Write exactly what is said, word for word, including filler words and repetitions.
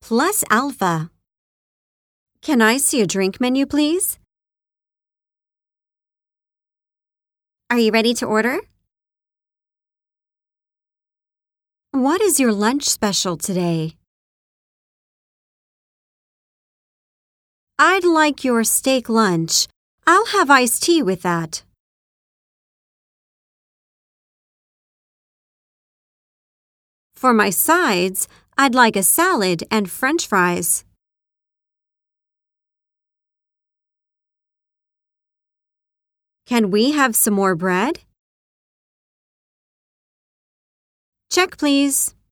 plus alpha. Can I see a drink menu, please? Are you ready to order? What is your lunch special today? I'd like your steak lunch. I'll have iced tea with that. For my sides, I'd like a salad and French fries. Can we have some more bread? Check, please.